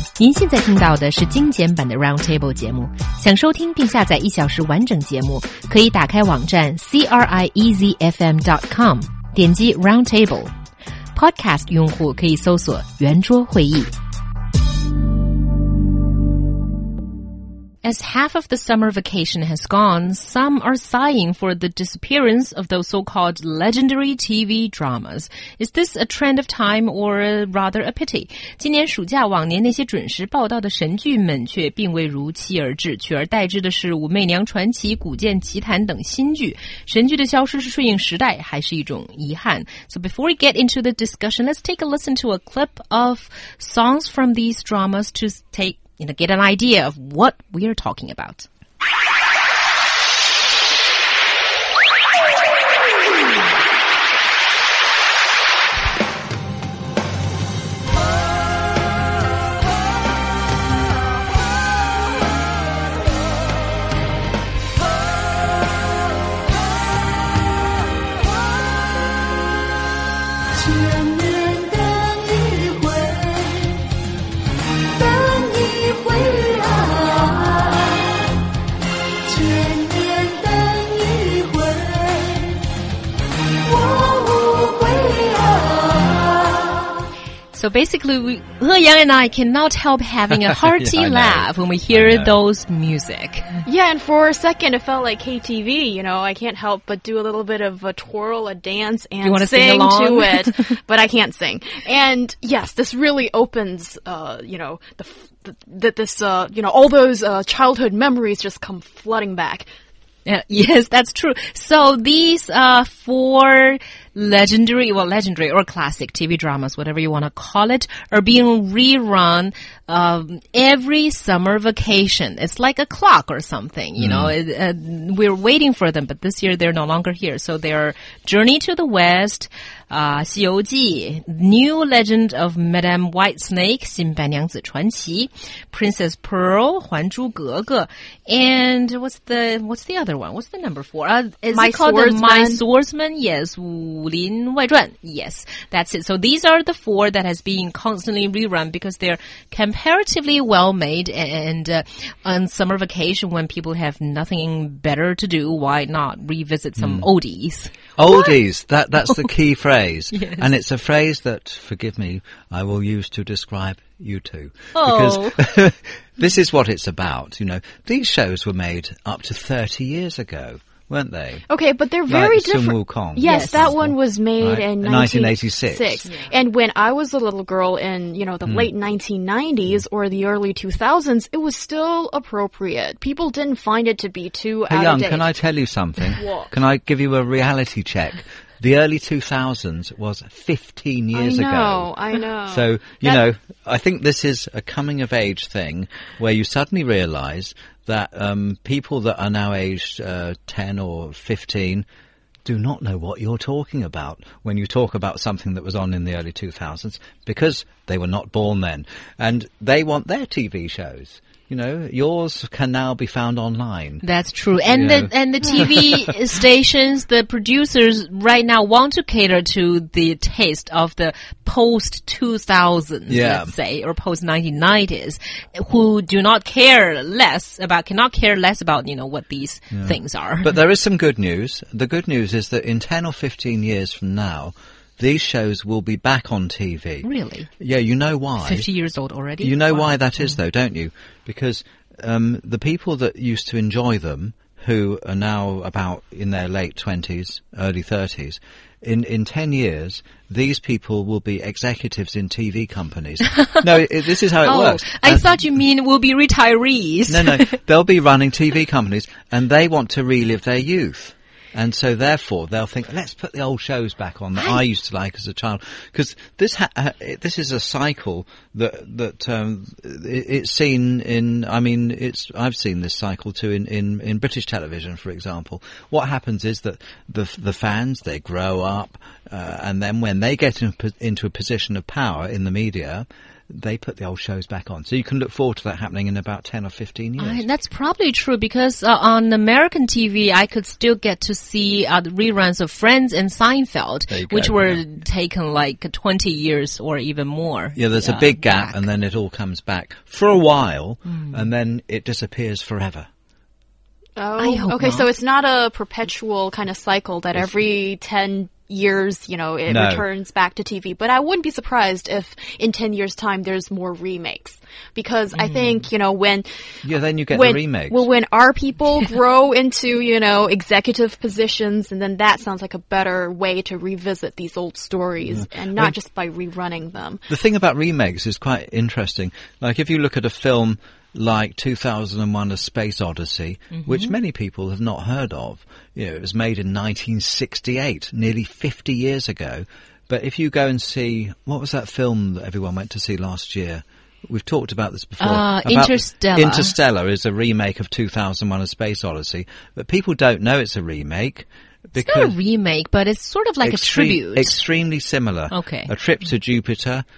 您现在听到的是精简版的 Roundtable 节目。想收听并下载1小时完整节目，可以打开网站 CRIEZFM.com， 点击 Roundtable。Podcast 用户可以搜索圆桌会议。As half of the summer vacation has gone, some are sighing for the disappearance of those so-called legendary TV dramas. Is this a trend of time or rather a pity? 今年暑假往年那些准时报道的神剧们却并未如期而至，取而代之的是武媚娘传奇、古剑奇谭等新剧。神剧的消失是顺应时代，还是一种遗憾？ So before we get into the discussion, let's take a listen to a clip of songs from these dramas to get an idea of what we are talking about. So basically, He Yang and I cannot help having a hearty laugh when we hear those music. Yeah, and for a second it felt like KTV, you know, I can't help but do a little bit of a twirl, a dance, and sing to it, but I can't sing. And yes, this really opens, all those childhood memories just come flooding back. Yes, that's true. So these 4 legendary or classic TV dramas, whatever you want to call it, are being rerun every summer vacation. It's like a clock or something, you know. We're waiting for them, but this year they're no longer here. So they're Journey to the West, 西游记, New Legend of Madame Whitesnake, 新白娘子传奇, Princess Pearl, 还珠格格, and what's the other one? What's the number 4? Is it called My Swordsman? Yes, 武林外传. Yes, that's it. So these are the 4 that has been constantly rerun because they're comparatively well made, and on summer vacation when people have nothing better to do, why not revisit some oldies? Oldies, that's the key phrase. Yes. And it's a phrase that, forgive me, I will use to describe you two. Oh. Because this is what it's about, you know. These shows were made up to 30 years ago, weren't they? Okay, but they're very different. Sun Wukong. Yes, that one was made in 1986. Yeah. And when I was a little girl in, the late 1990s or the early 2000s, it was still appropriate. People didn't find it to be too out of date. Can I tell you something? What? Can I give you a reality check? The early 2000s was 15 years ago. I know. So, I think this is a coming-of-age thing where you suddenly realise that people that are now aged 10 or 15 do not know what you're talking about when you talk about something that was on in the early 2000s because they were not born then. And they want their TV shows. You know, yours can now be found online. That's true. And the TV stations, the producers right now want to cater to the taste of the post-2000s, let's say, or post-1990s, who cannot care less about, what these things are. But there is some good news. The good news is that in 10 or 15 years from now, these shows will be back on TV. Really? Yeah, you know why. 50 years old already? You know why that is, though, don't you? Because the people that used to enjoy them, who are now about in their late 20s, early 30s, in 10 years, these people will be executives in TV companies. No, this is how it works. I thought you mean will be retirees. No, they'll be running TV companies, and they want to relive their youth. And so, therefore, they'll think, let's put the old shows back on that I used to like as a child. Because this is a cycle that it's seen in, I've seen this cycle too in British television, for example. What happens is that the fans, they grow up, and then when they get into a position of power in the media, they put the old shows back on. So you can look forward to that happening in about 10 or 15 years. That's probably true because on American TV, I could still get to see the reruns of Friends and Seinfeld, which were taken like 20 years or even more. Yeah, there's a big gap and then it all comes back for a while and then it disappears forever. Oh, okay, so it's not a perpetual kind of cycle that every 10 years, it returns back to TV. But I wouldn't be surprised if in 10 years' time there's more remakes. Because I think, when... Yeah, then you get the remakes. Well, when our people grow into, executive positions, and then that sounds like a better way to revisit these old stories and not just by rerunning them. The thing about remakes is quite interesting. Like, if you look at a film like 2001 A Space Odyssey, which many people have not heard of. It was made in 1968, nearly 50 years ago. But if you go and see, what was that film that everyone went to see last year? We've talked about this before. Interstellar. Interstellar is a remake of 2001 A Space Odyssey, but people don't know it's a remake. It's not a remake, but it's sort of like a tribute. Extremely similar. Okay. A trip to Jupiter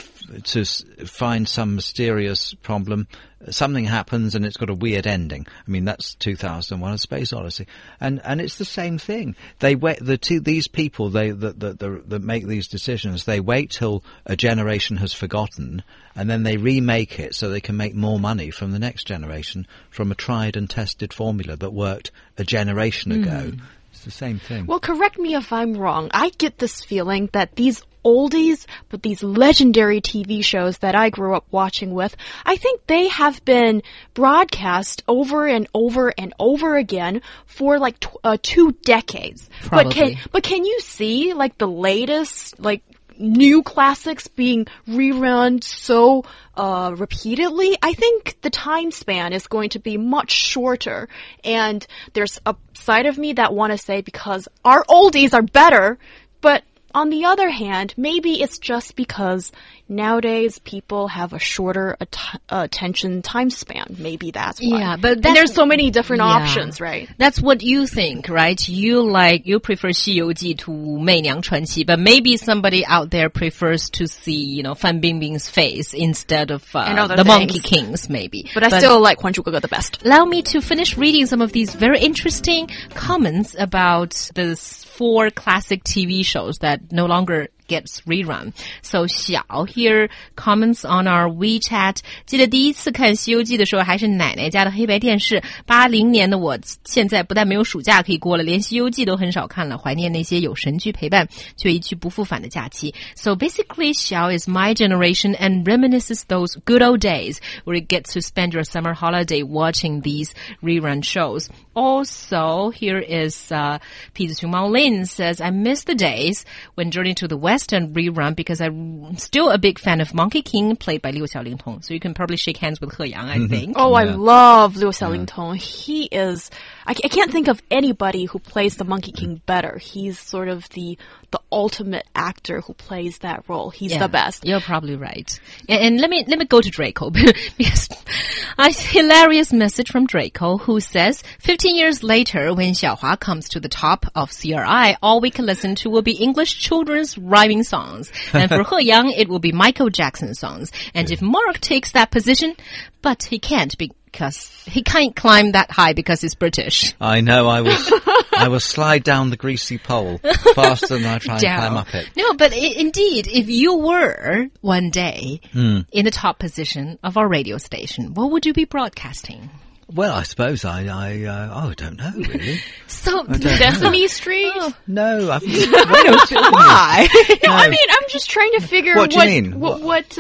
to find some mysterious problem. Something happens and it's got a weird ending. I mean, that's 2001: A Space Odyssey, and it's the same thing. They wait. These people that make these decisions. They wait till a generation has forgotten, and then they remake it so they can make more money from the next generation from a tried and tested formula that worked a generation ago. It's the same thing. Well, correct me if I'm wrong. I get this feeling that these oldies, but these legendary TV shows that I grew up watching with, I think they have been broadcast over and over and over again for like 2 decades. Probably. But can you see like the latest, like new classics being rerun so repeatedly? I think the time span is going to be much shorter. And there's a side of me that want to say because our oldies are better, but on the other hand, maybe it's just because nowadays people have a shorter attention time span. Maybe that's why. Yeah, but there's so many different options, right? That's what you think, right? You prefer 西游记 to 媚娘传奇, but maybe somebody out there prefers to see, Fan Bingbing's face instead of the Monkey Kings, maybe. But I still like 还珠格格 the best. Allow me to finish reading some of these very interesting comments about the 4 classic TV shows that no longer gets rerun. So Xiao here comments on our WeChat. 记得第一次看西游记的时候还是奶奶家的黑白电视 ,80 年的我现在不但没有暑假可以过了，连西游记都很少看了，怀念那些有神剧陪伴却一去不复返的假期。So basically Xiao is my generation and reminisces those good old days where you get to spend your summer holiday watching these rerun shows. Also, here is Pi Zhiqing Mao Lin says, I miss the days when Journey to the Western rerun because I'm still a big fan of Monkey King played by Liu Xiaolingtong. So you can probably shake hands with He Yang, I think. Oh, I love Liu Xiaolingtong. He is... I can't think of anybody who plays the Monkey King better. He's sort of the ultimate actor who plays that role. He's the best. You're probably right. And let me go to Draco because a hilarious message from Draco who says, 15 years later, when Xiaohua comes to the top of CRI, all we can listen to will be English children's rhyming songs. And for He Yang, it will be Michael Jackson songs. And if Mark takes that position, but he can't because he can't climb that high because he's British. I know, I will slide down the greasy pole faster than I try and climb up it. No, but indeed, if you were one day in the top position of our radio station, what would you be broadcasting? Well, I suppose I don't know, really. So, Sesame Street? Oh, no, why? No, I mean, I'm just trying to figure what do you mean? What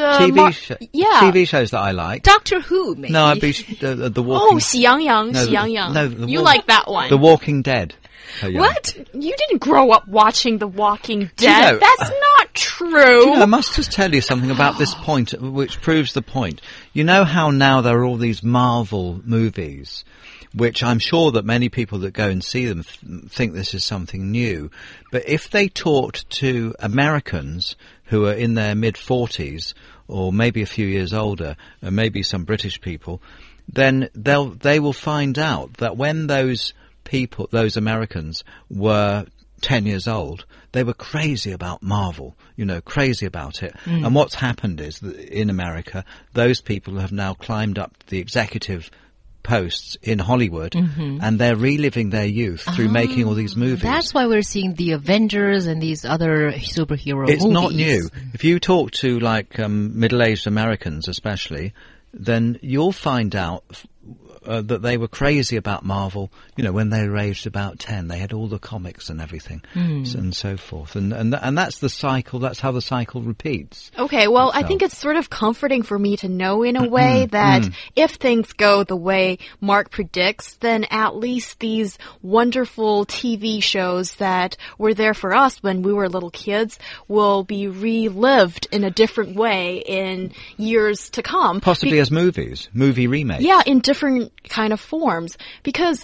TV shows that I like. Doctor Who, maybe. No, I'd be the Walking... Oh, 喜羊羊, 喜羊羊. No, you like that one. The Walking Dead. What? You didn't grow up watching The Walking Dead. That's not true. I must just tell you something about this point, which proves the point. You know how now there are all these Marvel movies, which I'm sure that many people that go and see them think this is something new. But if they talked to Americans who are in their mid-40s, or maybe a few years older, and maybe some British people, then they will find out that when those Americans were 10 years old, they were crazy about Marvel, crazy about it. And what's happened is that in America, those people have now climbed up the executive posts in Hollywood, and they're reliving their youth through making all these movies. That's why we're seeing the Avengers and these other superhero movies. It's not new. If you talk to middle-aged Americans especially, then you'll find out that they were crazy about Marvel, when they were aged about 10. They had all the comics and everything, and so forth. And that's the cycle. That's how the cycle repeats. Okay, well, I think it's sort of comforting for me to know in a way that if things go the way Mark predicts, then at least these wonderful TV shows that were there for us when we were little kids will be relived in a different way in years to come. Possibly as movie remakes. Yeah, in different kind of forms. Because,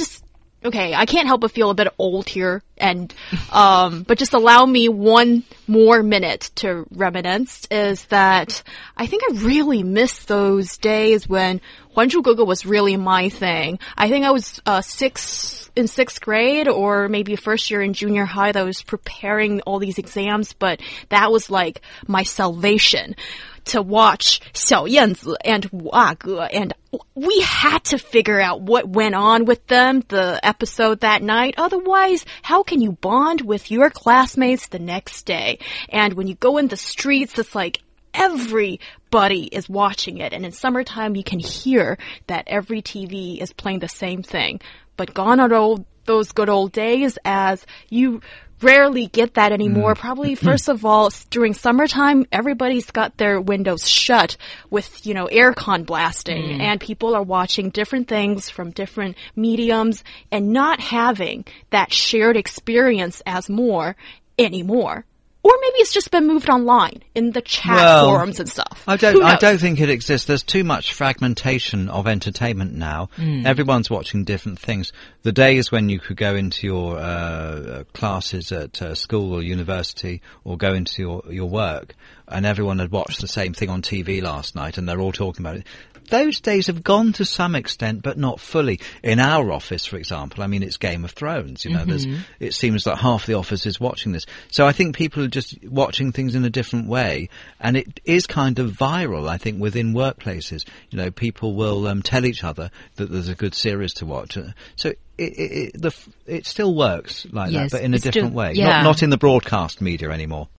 I can't help but feel a bit old here, and but just allow me one more minute to reminisce. Is that I think I really miss those days when 还珠格格 was really my thing. I think I was in sixth grade, or maybe first year in junior high, that I was preparing all these exams, but that was like my salvation. To watch 小燕子 and 五阿哥, and we had to figure out what went on with them, the episode that night. Otherwise, how can you bond with your classmates the next day? And when you go in the streets, it's like everybody is watching it. And in summertime, you can hear that every TV is playing the same thing. But gone are those good old days, as you rarely get that anymore. Probably, first of all, during summertime, everybody's got their windows shut with, aircon blasting, and people are watching different things from different mediums and not having that shared experience as more anymore. Or maybe it's just been moved online in the chat forums and stuff. I don't think it exists. There's too much fragmentation of entertainment now. Everyone's watching different things. The days when you could go into your classes at school or university, or go into your work, and everyone had watched the same thing on TV last night, and they're all talking about it. Those days have gone to some extent, but not fully. In our office, for example, it's Game of Thrones. It seems that half the office is watching this. So I think people are just watching things in a different way, and it is kind of viral, I think, within workplaces. People will tell each other that there's a good series to watch. So it still works like that, but in a different way. Yeah. Not in the broadcast media anymore.